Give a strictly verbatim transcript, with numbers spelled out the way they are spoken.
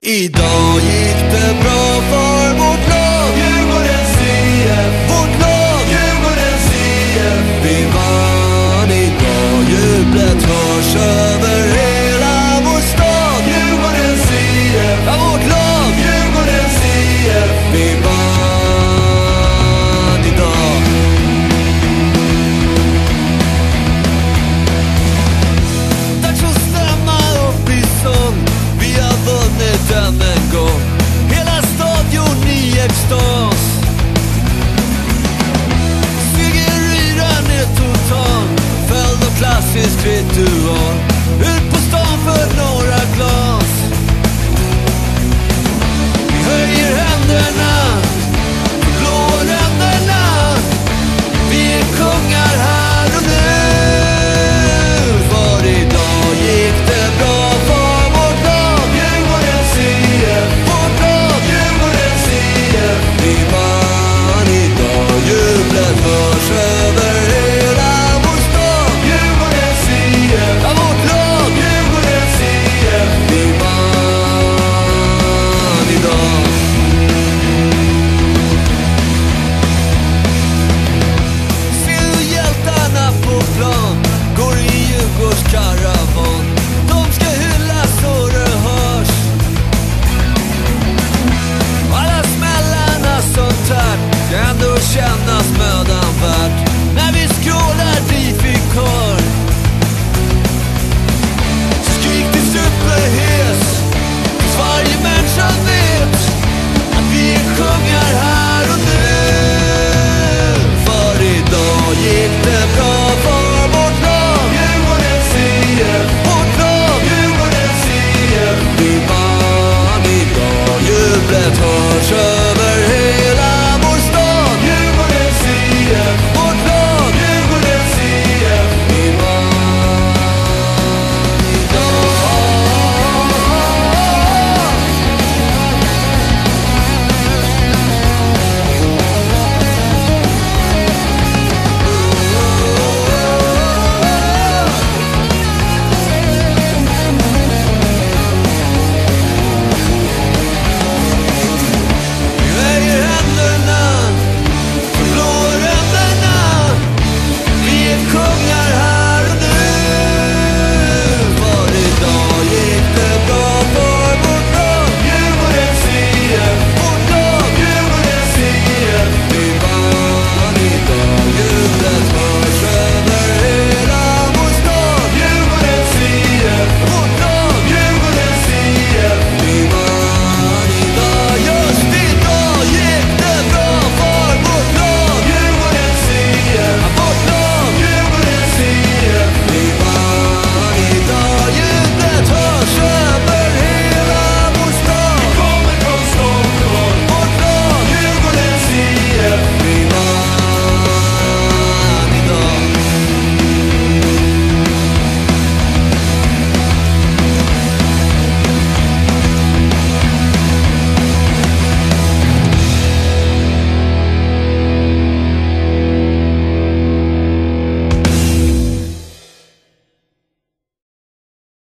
Idag gick det bra för vårt lag Djurgårdens I F. Vårt lag Djurgårdens I F. Vi vann idag. Jublet hörs över hela vår stad. Djurgårdens I F. Ja, vårt lag Djurgårdens I F. Vi vann idag. Dags att stämma upp i sång. Vi har vunnit än en gång. Hela stadion i extas. Segeryran är total. Följd av klassisk ritual.